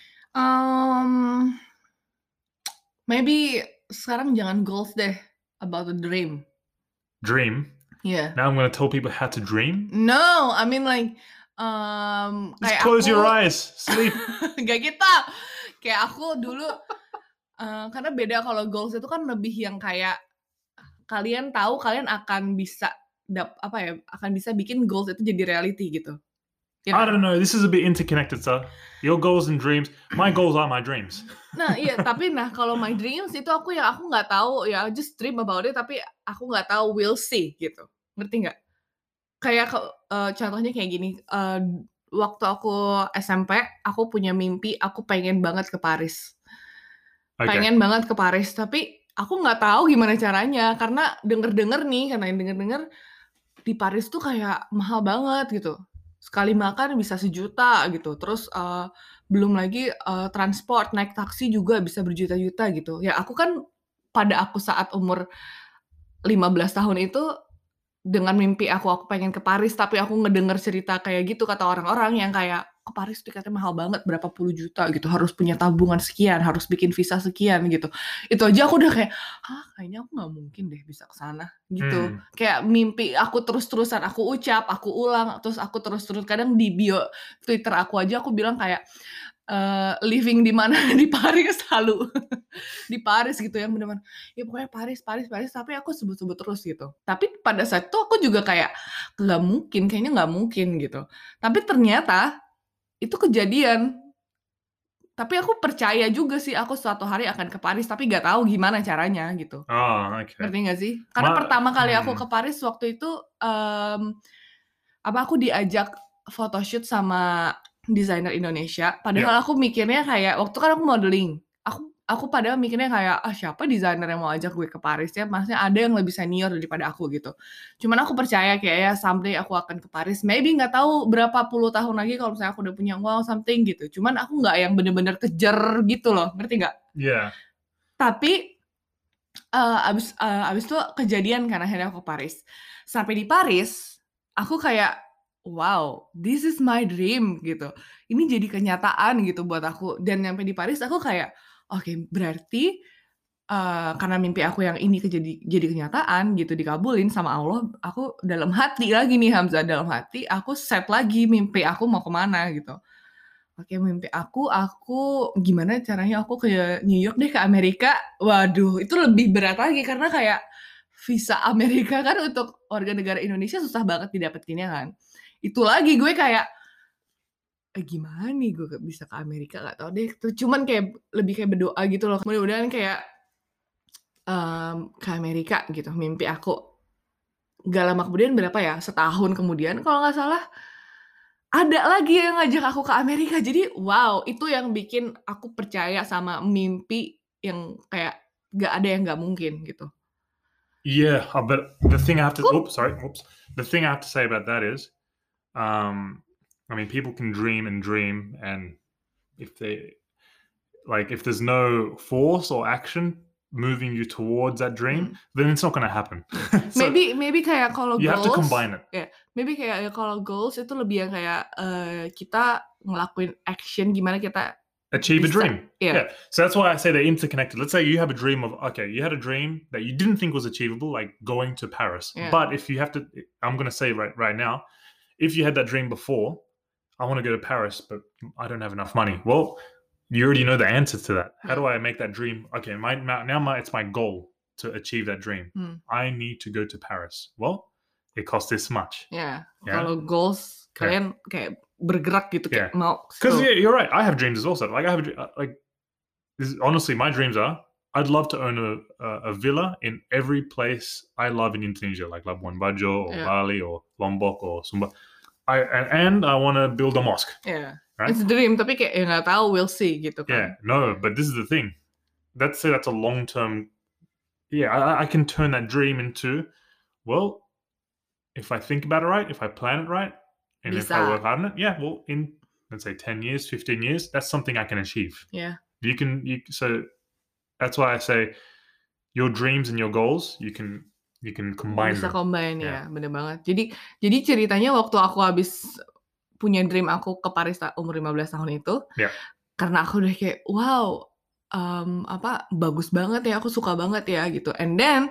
Um, maybe sekarang jangan goals deh, about the dream. Dream. Yeah. Now I'm going to tell people how to dream. No, I mean like um Just kayak close aku, your eyes, sleep. Gak gitu. Kayak aku dulu uh, karena beda kalau goals itu kan lebih yang kayak kalian tahu kalian akan bisa dap, apa ya akan bisa bikin goals itu jadi reality gitu. Ya I kan? don't know. This is a bit interconnected, sir. Your goals and dreams. My goals are my dreams. Nah iya tapi nah kalau my dreams itu aku yang aku nggak tahu ya just dream about it tapi aku nggak tahu we'll see gitu, ngerti nggak? Kayak uh, contohnya kayak gini, uh, waktu aku S M P aku punya mimpi aku pengen banget ke Paris, Okay. pengen banget ke Paris tapi aku nggak tahu gimana caranya karena denger-denger nih karena yang denger-denger di Paris tuh kayak mahal banget gitu. Sekali makan bisa sejuta gitu. Terus uh, belum lagi uh, transport, naik taksi juga bisa berjuta-juta gitu. Ya aku kan pada aku saat umur lima belas tahun itu dengan mimpi aku aku pengen ke Paris tapi aku ngedenger cerita kayak gitu kata orang-orang yang kayak ke Paris tiketnya mahal banget berapa puluh juta gitu, harus punya tabungan sekian, harus bikin visa sekian gitu. Itu aja aku udah kayak, hah kayaknya aku nggak mungkin deh bisa ke sana gitu. Hmm. Kayak mimpi aku terus-terusan aku ucap, aku ulang, terus aku terus-terus kadang di bio Twitter aku aja aku bilang kayak uh, living di mana di Paris halu di Paris gitu yang benar-benar ya pokoknya Paris Paris Paris tapi aku sebut-sebut terus gitu. Tapi pada saat itu aku juga kayak nggak mungkin, kayaknya nggak mungkin gitu. Tapi ternyata itu kejadian. Tapi aku percaya juga sih aku suatu hari akan ke Paris tapi nggak tahu gimana caranya gitu. Oh, okay. Ngerti nggak sih? Karena Ma- pertama kali aku hmm. ke Paris waktu itu um, apa aku diajak photoshoot sama desainer Indonesia. Padahal aku mikirnya kayak waktu kan aku modeling. Aku aku padahal mikirnya kayak, "Ah, siapa desainer yang mau ajak gue ke Paris ya, maksudnya ada yang lebih senior daripada aku," gitu. Cuman aku percaya kayak ya someday aku akan ke Paris, maybe nggak tahu berapa puluh tahun lagi kalau misalnya aku udah punya uang something gitu. Cuman aku nggak yang bener-bener kejar gitu loh, ngerti nggak? Yeah. Tapi, eee, abis eee, abis itu kejadian kan akhirnya aku ke Paris. Sampai di Paris, aku kayak, "Wow, this is my dream," gitu. Ini jadi kenyataan gitu buat aku dan nyampe di Paris aku kayak, "Oke, berarti, eee, karena mimpi aku yang ini kejadi jadi kenyataan gitu, dikabulin sama Allah, aku dalam hati lagi nih Hamzah, dalam hati aku set lagi mimpi aku mau ke mana gitu. Oke, mimpi aku, aku gimana caranya aku ke New York deh, ke Amerika. Waduh, itu lebih berat lagi karena kayak visa Amerika kan untuk warga negara Indonesia susah banget didapetinnya kan. Itu lagi gue kayak, "Eh, gimana nih gue ke bisa ke Amerika, nggak tahu deh." Tuh cuman kayak lebih kayak berdoa gitu loh, mudah-mudahan kayak, mmm, ke Amerika gitu mimpi aku. Nggak lama kemudian berapa ya, setahun kemudian kalau nggak salah, ada lagi yang ngajak aku ke Amerika. Jadi wow, itu yang bikin aku percaya sama mimpi yang kayak nggak ada yang nggak mungkin gitu. Yeah, uh, but the thing I have to Kup oops, sorry, oops. The thing I have to say about that is, um, I mean, people can dream and dream, and if they like, if there's no force or action moving you towards that dream, mhm. then it's not going to happen. So Maybe maybe kayak kalau you have to goals combine it. ya, maybe kayak ya kalau goals itu lebih yang kayak, eee, kita ngelakuin action gimana kita Achieve a bisa dream. ya, Yeah. So that's why I say they're interconnected. Let's say you have a dream of, okay, you had a dream that you didn't think was achievable, like going to Paris. ya, But if you have to, I'm going to say right right now, if you had that dream before, I want to go to Paris, but I don't have enough money. Well, you already know the answer to that. How do ya, I make that dream? Okay, my now my it's my goal to achieve that dream. mmm, I need to go to Paris. Well, it costs this much. ya. Yeah, Kalau goals yeah, kalian kayak bergerak gitu yeah. kayak mau ke Because situ. yeah, you're right. I have dreams as well. So like I have a dr- uh, like this is, honestly my dreams are. I'd love to own a, a, a villa in every place I love in Indonesia, like Labuan Bajo or Ya, Bali or Lombok or Sumba. I and, and I want to build a mosque, ya. right? It's a dream tapi kayak ya nggak tahu, we'll see gitu Yeah, kan. no, but this is the thing. Let's say that's a long term. Yeah, I, I can turn that dream into, well, if I think about it right, if I plan it right, and if I Bisa, work hard on it, yeah, well, in let's say ten years, fifteen years, that's something I can achieve. ya. You can, you so that's why I say your dreams and your goals, you can you can combine Bisa them. combine Yeah, ya, bener banget. Jadi jadi ceritanya waktu aku habis punya dream aku ke Paris ta umur lima belas tahun itu, yeah, karena aku udah kayak, "Wow, mmm, apa, bagus banget ya, aku suka banget ya," gitu. And then,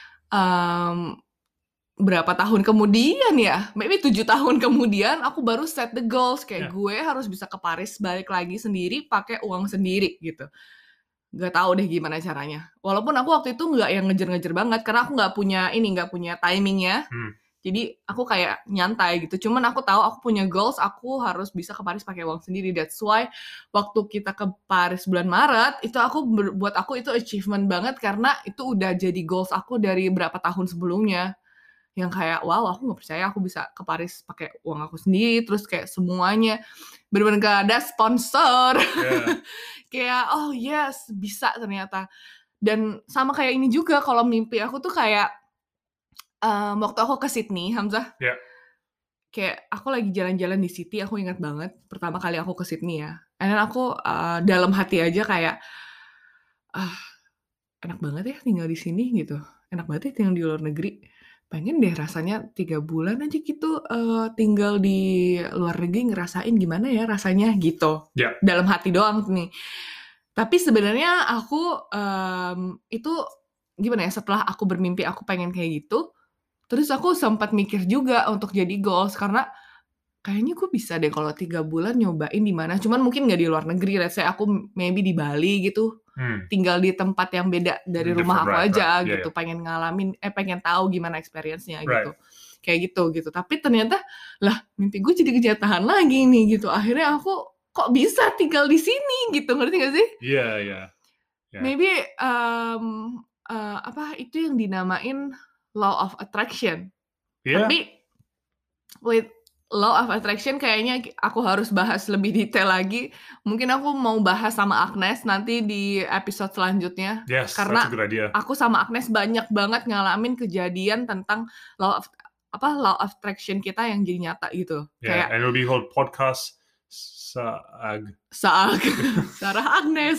mmm, berapa tahun kemudian ya, maybe tujuh tahun kemudian aku baru set the goals, kayak yeah, gue harus bisa ke Paris balik lagi sendiri pakai uang sendiri gitu. Nggak tahu deh gimana caranya. Walaupun aku waktu itu nggak yang ngejar-ngejar banget, karena aku nggak punya ini, nggak punya timing-nya. mm, Jadi aku kayak nyantai gitu, cuman aku tahu aku punya goals, aku harus bisa ke Paris pakai uang sendiri. That's why waktu kita ke Paris bulan Maret, itu aku ber buat aku itu achievement banget karena itu udah jadi goals aku dari berapa tahun sebelumnya. Yang kayak, wow aku nggak percaya aku bisa ke Paris pakai uang aku sendiri, terus kayak semuanya bener-bener nggak ada sponsor. yeah, Kayak, oh yes, bisa ternyata. Dan sama kayak ini juga kalau mimpi aku tuh kayak, mmm, waktu aku ke Sydney, Hamzah, yeah, kayak aku lagi jalan-jalan di city, aku ingat banget pertama kali aku ke Sydney ya, and then aku, eee, dalam hati aja kayak, "Ah, enak banget ya tinggal di sini," gitu, "enak banget ya tinggal di luar negeri, pengen deh rasanya tiga bulan aja gitu, eee, tinggal di luar negeri ngerasain gimana ya rasanya," gitu. yeah, Dalam hati doang nih. Tapi sebenarnya aku, mmm, itu gimana ya, setelah aku bermimpi aku pengen kayak gitu, terus aku sempat mikir juga untuk jadi goals karena kayaknya gue bisa deh kalau tiga bulan nyobain di mana, cuman mungkin nggak di luar negeri, let's say aku maybe di Bali gitu, mm, tinggal di tempat yang beda dari rumah different, aku right, right, aja yeah, yeah, gitu, pengen ngalamin eh, pengen tahu gimana experience-nya right, gitu. Kayak gitu gitu. Tapi ternyata, lah mimpi gue jadi kenyataan lagi nih gitu, akhirnya aku kok bisa tinggal di sini gitu, ngerti nggak sih? yeah, yeah, yeah, Maybe, mmm, eee, apa, itu yang dinamain law of attraction. yeah, Tapi wait. Law of Attraction kayaknya aku harus bahas lebih detail lagi. Mungkin aku mau bahas sama Agnes nanti di episode selanjutnya. Yes, that's a Karena good idea. aku sama Agnes banyak banget ngalamin kejadian tentang law of apa law of attraction kita yang jadi nyata gitu. Yeah, Kayak and it'll be called podcast Saag. Saag, Sarah Agnes.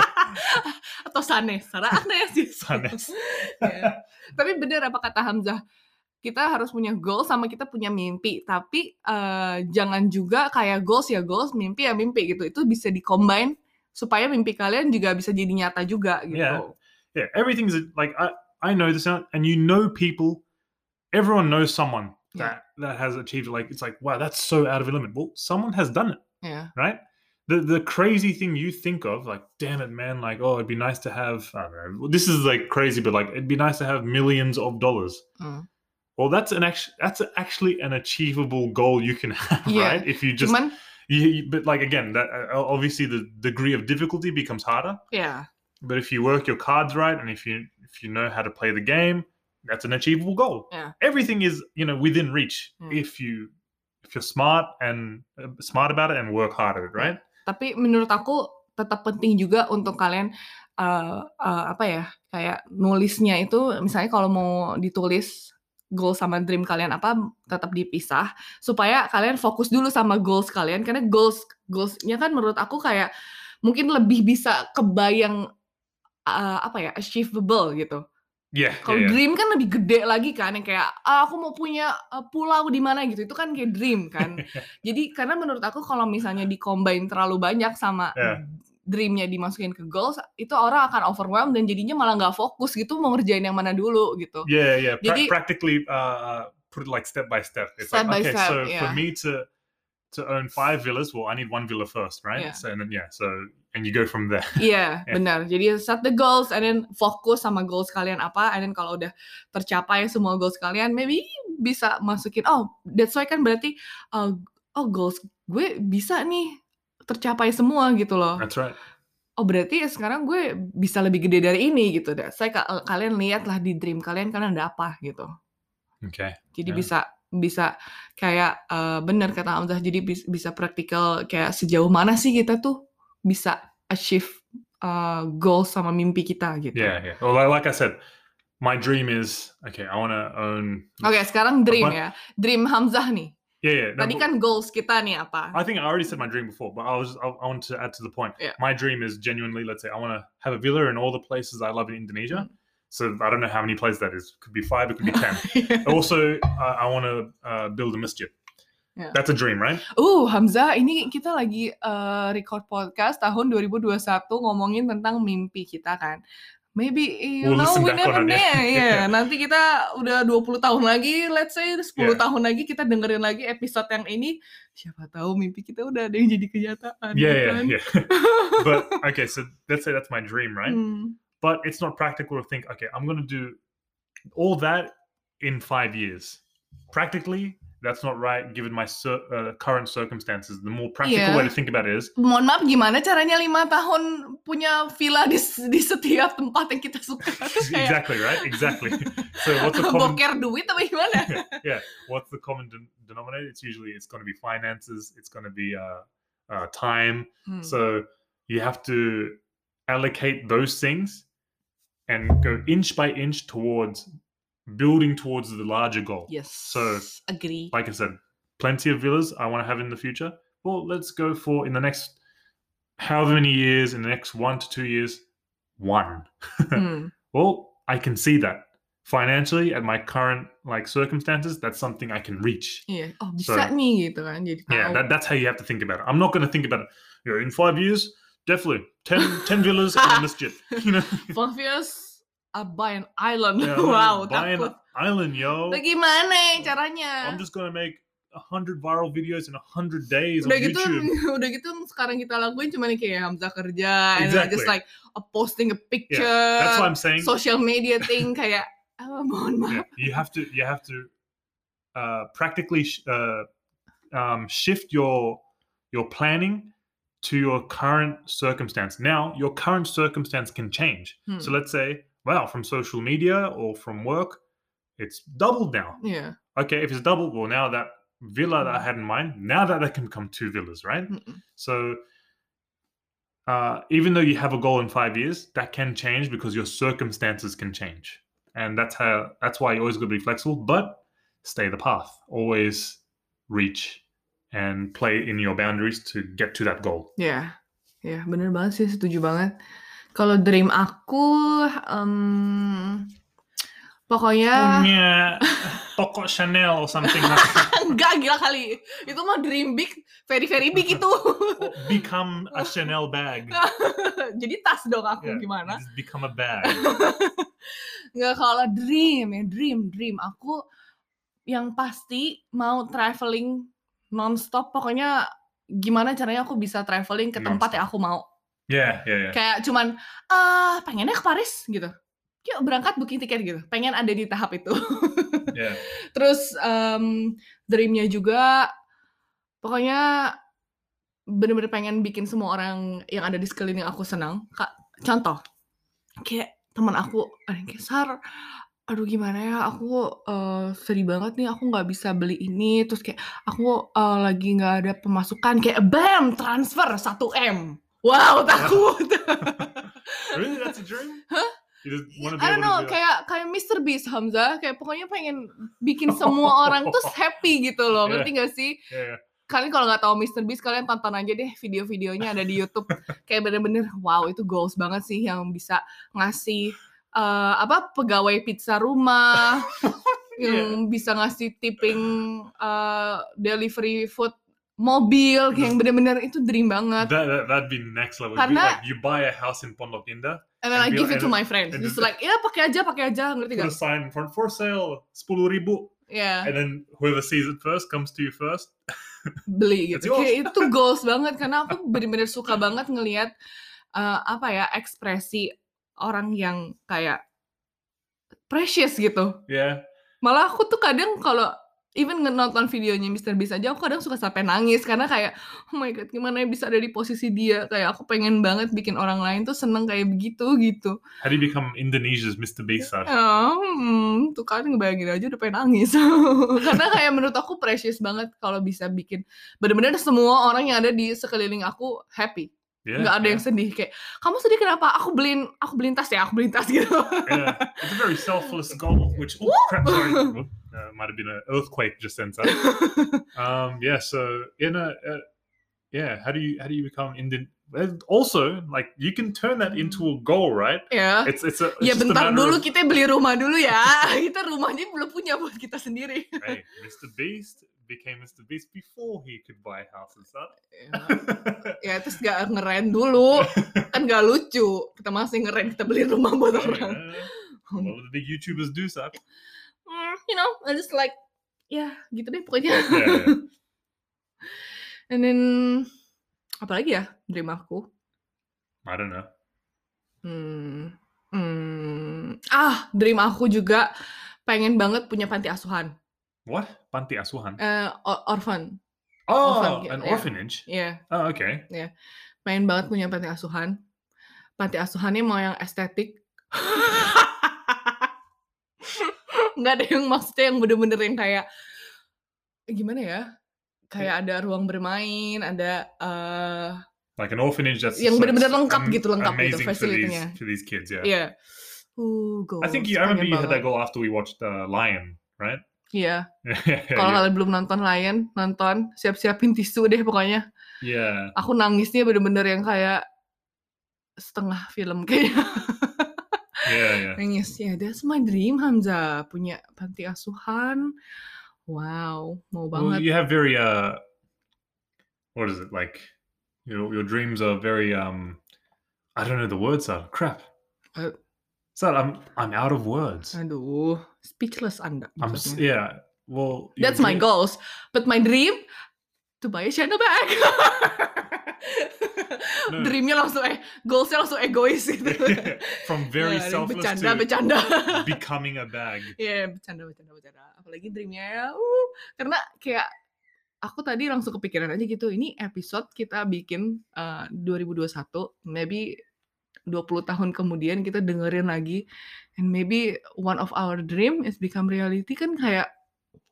Atau Sanes, Sarah Agnes. Sanes. Ya. Tapi bener apa kata Hamzah, kita harus punya goal sama kita punya mimpi, tapi uh, jangan juga kayak goals ya goals, mimpi ya mimpi gitu. Itu bisa di-combine supaya mimpi kalian juga bisa jadi nyata juga gitu. Yeah, yeah. Everything's like I I know this now, and you know people. Everyone knows someone that Yeah. that has achieved it. Like it's like wow, that's so out of your limit. Well, someone has done it, Yeah. right? The the crazy thing you think of, like, damn it, man, like, oh, it'd be nice to have. I don't know. This is like crazy, but like, it'd be nice to have millions of dollars. Hmm. Well, that's an actually that's actually an achievable goal you can have, Yeah. right? If you just, Cuman, you, but like again, that uh, obviously the degree of difficulty becomes harder. yeah. But if you work your cards right, and if you if you know how to play the game, that's an achievable goal. Yeah. Everything is, you know, within reach Hmm. if you if you're smart and uh, smart about it and work hard at it, right? Tapi menurut aku tetap penting juga untuk kalian uh, uh, apa ya kayak nulisnya itu misalnya kalau mau ditulis goal sama dream kalian apa tetap dipisah supaya kalian fokus dulu sama goals kalian karena goals goalsnya kan menurut aku kayak mungkin lebih bisa kebayang uh, apa ya achievable gitu. Yeah. Kalau yeah, yeah. dream kan lebih gede lagi kan yang kayak ah, aku mau punya uh, pulau di mana gitu itu kan kayak dream kan. Jadi karena menurut aku kalau misalnya di-combine terlalu banyak sama Yeah. dreamnya dimasukin ke goals itu orang akan overwhelmed dan jadinya malah nggak fokus gitu mau ngerjain yang mana dulu gitu. Yeah, yeah. Pra- Jadi- practically uh, put it like step by step. It's Step by like okay, step, so yeah. for me to to own five villas, well, I need one villa first, right? Yeah. So and then yeah, so and you go from there. Iya, Yeah. benar. Jadi set the goals and then fokus sama goals kalian apa and then kalau udah tercapai semua goals kalian maybe bisa masukin oh that's why kan berarti uh, oh goals gue bisa nih tercapai semua gitu loh. That's right. Oh berarti sekarang gue bisa lebih gede dari ini gitu deh. Saya ka- kalian lihatlah di dream kalian kalian ada apa gitu. Okay. Jadi Yeah. bisa bisa kayak uh, benar kata Hamzah. Jadi bis, bisa praktikal kayak sejauh mana sih kita tuh bisa achieve uh, goals sama mimpi kita gitu. Yeah, yeah. Well, like, like I said, my dream is okay. I want to own. Oke sekarang dream Apa? ya. Dream Hamzah nih. Yeah, yeah. no, Tadi but- kan goals kita nih apa? I think I already said my dream before, but I was I, I want to add to the point. Yeah. My dream is genuinely, let's say, I want to have a villa in all the places I love in Indonesia. Mm. So I don't know how many places that is. Could be five. It could be ten. Also, uh, I want to uh, build a masjid. Yeah. That's a dream, right? Uh, Hamzah, ini kita lagi uh, record podcast tahun dua ribu dua puluh satu ngomongin tentang mimpi kita kan. Maybe, you We'll know, listen we back never on know. it, yeah. Yeah. Nanti kita udah dua puluh tahun lagi, let's say sepuluh Yeah. tahun lagi kita dengerin lagi episode yang ini. Siapa tahu mimpi kita udah ada yang jadi kenyataan. Yeah, ya yeah, kan? yeah. But okay, so let's say that's my dream, right? Hmm. But it's not practical to think, okay, I'm going to do all that in five years. Practically, that's not right given my cir- uh, current circumstances. The more practical Yeah. way to think about it is, Mohon maaf, gimana caranya lima tahun punya villa di, di setiap tempat yang kita suka? Terus kayak exactly, right? Exactly. So what's the common boker duit apa gimana? yeah, what's the common den- denominator? It's usually it's going to be finances, it's going to be uh, uh, time. Hmm. So you have to allocate those things and go inch by inch towards building towards the larger goal. Yes. So, agree. like I said, plenty of villas I want to have in the future. Well, let's go for in the next however many years, in the next one to two years, one. Hmm. Well, I can see that financially at my current like circumstances, that's something I can reach. Iya. Oh So- bisa nih gitu kan. Jadi tahu. Yeah, that, that's how you have to think about it. I'm not going to think about it. You know, in five years, definitely ten, ten villas and a masjid. You know, Five years, I buy an island. Yeah, I'm gonna Wow, buy an takut. island, yo. Bagaimana ya caranya? I'm just gonna make a hundred viral videos in a hundred days Udah on gitu, YouTube. udah gitu sekarang kita lakuin cuma kayak Hamzah kerja, and Exactly. just like uh, posting a picture, That's why I'm saying. social media thing kayak, oh, mohon maaf. Yeah, you have to you have to uh, practically sh- uh, um, shift your your planning to your current circumstance. Now, your current circumstance can change. Hmm. So let's say, wow, from social media or from work, it's doubled now. Iya. Okay, if it's doubled, well, now that villa that I Hmm. had in mind, now that there can become two villas, right? Mm-mm. So uh, even though you have a goal in five years, that can change because your circumstances can change, and that's how that's why you always got to be flexible, but stay the path. Always reach and play in your boundaries to get to that goal. Ya, ya bener banget sih, setuju banget. Kalau dream aku, em, pokoknya Punya toko Chanel or something like that. enggak, gila kali. Itu mah dream big, very very big itu. Or become a Chanel bag. Jadi tas dong aku, Yeah, gimana? just become a bag. Nggak, kalau dream ya, dream, dream. Aku yang pasti mau traveling nonstop. Pokoknya gimana caranya aku bisa traveling ke tempat yang aku mau. Yeah, yeah, yeah. Kayak cuman, ah pengennya ke Paris gitu. Yuk berangkat booking tiket gitu. Pengen ada di tahap itu. Yeah. Terus um, dreamnya juga, pokoknya bener-bener pengen bikin semua orang yang ada di sekeliling aku senang. Kak, contoh, kayak teman aku ada yang kayak, Sar, aduh gimana ya, aku uh, sedih banget nih, aku nggak bisa beli ini. Terus kayak aku uh, lagi nggak ada pemasukan, kayak bam, transfer satu M. Wow, takut. Really, that's a dream? Hah? You just want to be I don't able know, to do that? kayak kayak mister Beast, Hamzah, kayak pokoknya pengen bikin semua orang tuh happy gitu loh, Yeah. ngerti gak sih? Yeah, yeah. Kalian kalau nggak tahu mister Beast, kalian tonton aja deh video-videonya, ada di YouTube. Kayak bener-bener, wow, itu goals banget sih yang bisa ngasih uh, apa pegawai pizza rumah, yang bisa ngasih tipping uh, delivery food mobil, kayak yang bener-bener itu dream banget. That, that, that'd be next level. It'd be Karena- like you buy a house in Pondok Indah, And then I And be give it like- to and- my friends. and Just just- like, ya pakai aja, pakai aja, ngerti put gak? a sign in front for sale, sepuluh ribu, Ya. and then whoever sees it first comes to you first. Beli It's gitu. yours. Kayak itu goals banget, karena aku bener-bener suka banget ngelihat uh, apa ya, ekspresi orang yang kayak precious gitu. Yeah. Malah aku tuh kadang kalau even nonton videonya mister Beast aja, aku kadang suka sampai nangis karena kayak, oh my god, gimana ya bisa ada di posisi dia. Kayak aku pengen banget bikin orang lain tuh seneng kayak begitu gitu. How do you become Indonesia's mister Beast? Sar? Oh, hmm, tuh kan ngebayangin aja udah pengen nangis. Karena kayak menurut aku precious banget kalau bisa bikin bener-bener semua orang yang ada di sekeliling aku happy. Yeah, Nggak ada yeah. yang sedih kayak, kamu sedih kenapa? Aku beliin, aku beliin tas ya, aku beliin tas gitu. Yeah. It's a very selfless goal. Which oh crap, sorry, uh, might have been an earthquake just then. Sar. um, yeah. So in a uh, yeah, how do you how do you become Indian? Also, like you can turn that into a goal, right? Ya. It's it's a it's Ya just a bentar matter dulu, of, kita beli rumah dulu ya. Kita rumahnya belum punya buat kita sendiri. hey, mister Beast became mister Beast before he could buy houses. Huh? Ya terus gak ngeren dulu. Kan gak lucu. Kita masih ngeren, kita beli rumah buat orang. Yeah. A lot of the big YouTubers do so. Hmm, you know, I just like, ya gitu deh pokoknya. Yeah, yeah. And then, apalagi ya dream aku? I don't know. Hmm, hmm, ah, dream aku juga pengen banget punya panti asuhan. What? Panti asuhan? Eh, or- orphan. Oh, orphan, an yeah. orphanage. Iya, Oh, okay. pengen banget punya panti asuhan. Panti asuhannya mau yang estetik. Nggak ada yang maksudnya yang bener-bener yang kayak, gimana ya? Kayak ada ruang bermain, ada eh, Like an orphanage that's yang just, like, bener-bener lengkap am- gitu, lengkap gitu amazing for these facility-nya. for these kids. Yeah. Iya. Uh, goals. I think you, I remember pengen you had that banget. goal after we watched uh, Lion, right? Iya. yeah, Kalau yeah. kalian belum nonton Lion, nonton, siap-siapin tisu deh pokoknya. Yeah. Aku nangisnya bener-bener yang kayak setengah film kayaknya. Yeah, yeah. Nangis. Ya, that's my dream, Hamzah. Punya panti asuhan. Wow, mau Well, banget. you have very uh, what is it like? Your your dreams are very um, I don't know the words are crap. Uh, So I'm I'm out of words. Aduh, speechless Anda. I'm s- maksudnya. yeah. Well, your That's my dream- goals. But my dream, to buy a Chanel bag. No. Dreamnya langsung, eh, goalsnya langsung egois gitu. From very Ya, selfless bercanda, to bercanda. becoming a bag. Iya, bercanda, bercanda, bercanda. Apalagi dreamnya ya, uh, karena kayak aku tadi langsung kepikiran aja gitu. Ini episode kita bikin uh, dua ribu dua puluh satu, maybe dua puluh tahun kemudian kita dengerin lagi, and maybe one of our dream is become reality, kan kayak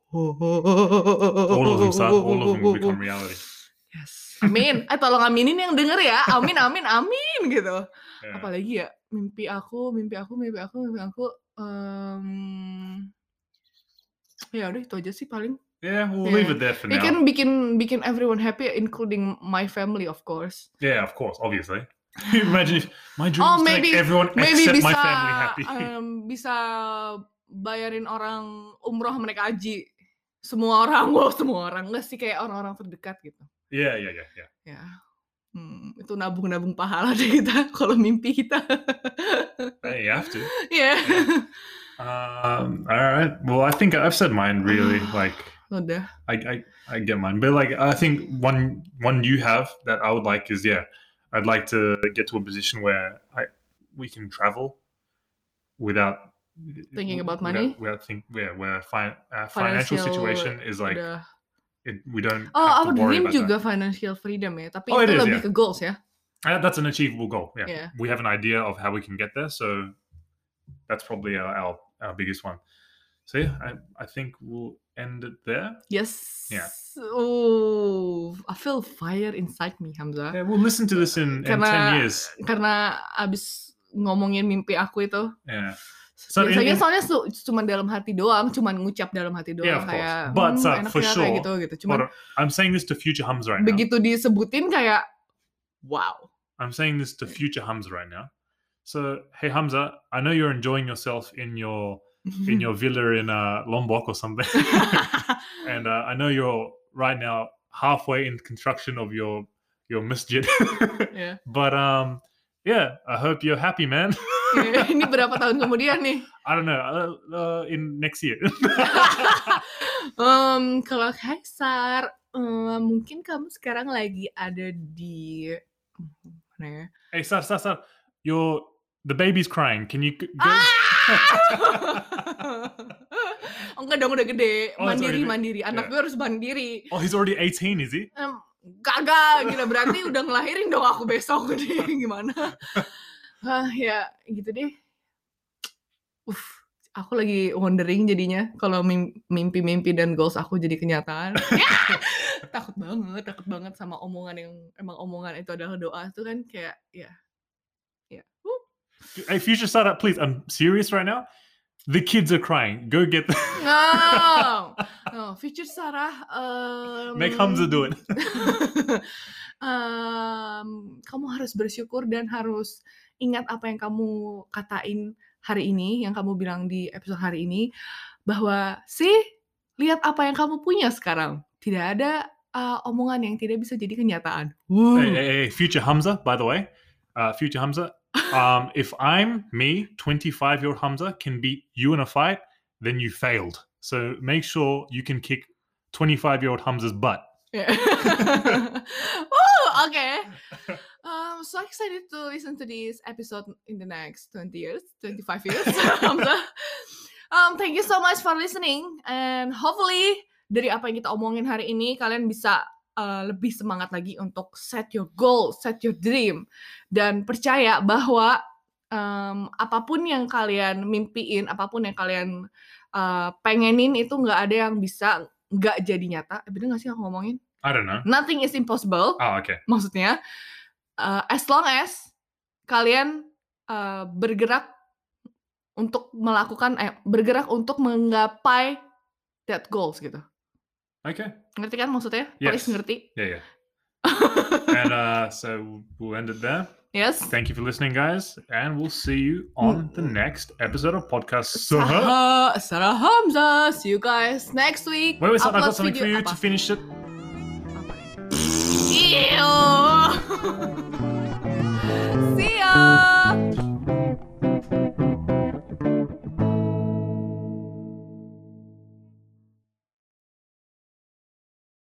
All of them, son. All of them will become reality. Yes. Amin. Eh tolong aminin yang denger ya. Amin, amin, amin gitu. Yeah. Apalagi ya, mimpi aku, mimpi aku, mimpi aku, mimpi aku. Um, ya udah itu aja sih paling. Yeah, we'll Yeah. leave it there for It now. can bikin bikin everyone happy, including my family, of course. Yeah, of course, obviously. Imagine if my dream Oh, is to maybe- make everyone Maybe except bisa my family happy. um, bisa bayarin orang umroh mereka haji. Semua orang, wow semua orang. Enggak sih kayak orang-orang terdekat gitu. Yeah, yeah, yeah, yeah. Ya. Hmm, itu nabung-nabung pahala deh kita kalau mimpi kita. Hey, you have to. Yeah. Um, all right. Well, I think I've said mine really. Like, Udah. I, I, I get mine, but like, I think one, one you have that I would like is yeah, I'd like to get to a position where I, we can travel without Thinking about without- money? Without think, yeah, where fi- uh, financial situation is like Udah. it, we don't. Oh, have our to worry dream about juga that. financial freedom ya, tapi Oh, it itu is, lebih yeah. ke goals ya. Uh, that's an achievable goal. Yeah. Yeah. We have an idea of how we can get there, so that's probably our our, our biggest one. So yeah, I, I think we'll end it there. Yes. Yeah. Oh, I feel fire inside me, Hamzah. Yeah, we'll listen to this in, in Karena- ten years. Karena abis ngomongin mimpi aku itu, Yeah. So in- biasanya in- soalnya su- cuma dalam hati doang, cuma ngucap dalam hati doang Yeah, of course. kayak But, hmm, Sar, enak for ya, sure, kayak gitu gitu. Cuman Hold on. I'm saying this to future Hamza right now. begitu disebutin kayak wow. I'm saying this to future Hamza right now. So hey Hamza, I know you're enjoying yourself in your in your villa in uh, Lombok or something, and uh, I know you're right now halfway in construction of your your masjid. Ya. But um, yeah, I hope you're happy, man. Ini berapa tahun kemudian nih? I don't know. Uh, uh, in next year. um, kalau Kaisar, um, mungkin kamu sekarang lagi ada di mana ya? Hey, Sar, Sar, Sar, your the baby's crying. Can you g- go? Ah! Oh, enggak dong, udah gede. Oh, it's Mandiri, already- mandiri. Anak yeah. gue harus mandiri. Oh, he's already eighteen, is he? Em, kagak, gila berarti udah ngelahirin dong aku besok nih. Gimana? Ah, ya, gitu deh. Uff, aku lagi wondering jadinya kalau mim- mimpi-mimpi dan goals aku jadi kenyataan. Ya! Takut banget, takut banget sama omongan yang emang omongan itu adalah doa itu kan kayak ya. Ya. Uh. Hey, future startup, please. I'm serious right now. The kids are crying. Go get them. No, no, future Sarah. Um, Make Hamza do it. um, kamu harus bersyukur dan harus ingat apa yang kamu katain hari ini, yang kamu bilang di episode hari ini, bahwa sih lihat apa yang kamu punya sekarang. Tidak ada uh, omongan yang tidak bisa jadi kenyataan. Woo. Hey, hey, hey, future Hamza, by the way. Uh, future Hamza. Um, if I'm me, twenty-five-year-old Hamza, can beat you in a fight, then you failed. So make sure you can kick twenty-five-year-old Hamza's butt. Yeah. Woo, okay. Um, so excited to listen to this episode in the next twenty years, twenty-five years. Hamzah. um, thank you so much for listening, and hopefully dari apa yang kita omongin hari ini kalian bisa uh, lebih semangat lagi untuk set your goal, set your dream, dan percaya bahwa um, apapun yang kalian mimpiin, apapun yang kalian uh, pengenin itu nggak ada yang bisa nggak jadi nyata. Eh, bener nggak sih aku ngomongin? I don't know. Nothing is impossible. Oh, okay. Maksudnya, uh, as long as kalian uh, bergerak untuk melakukan, eh, bergerak untuk menggapai that goals gitu. Okay. Ngerti kan maksudnya? Yes. Please ngerti. Yeah, yeah. And uh, so we'll end it there. Yes. Thank you for listening, guys, and we'll see you on the next episode of podcast. Saha. Sarah, Sarah Hamza. See you guys next week. Wait, wait, son, I've Upload got something for video- you apa? to finish it. Apa? Ew.